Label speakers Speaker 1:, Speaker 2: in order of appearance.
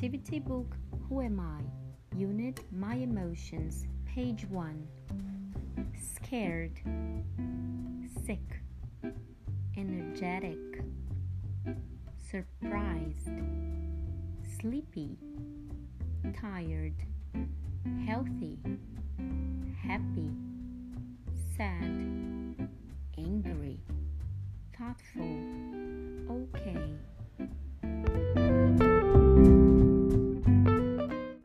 Speaker 1: Activity Book Who Am I? Unit My Emotions, page 1. Scared, sick, energetic, surprised, sleepy, tired, healthy, happy, sad, angry, thoughtful,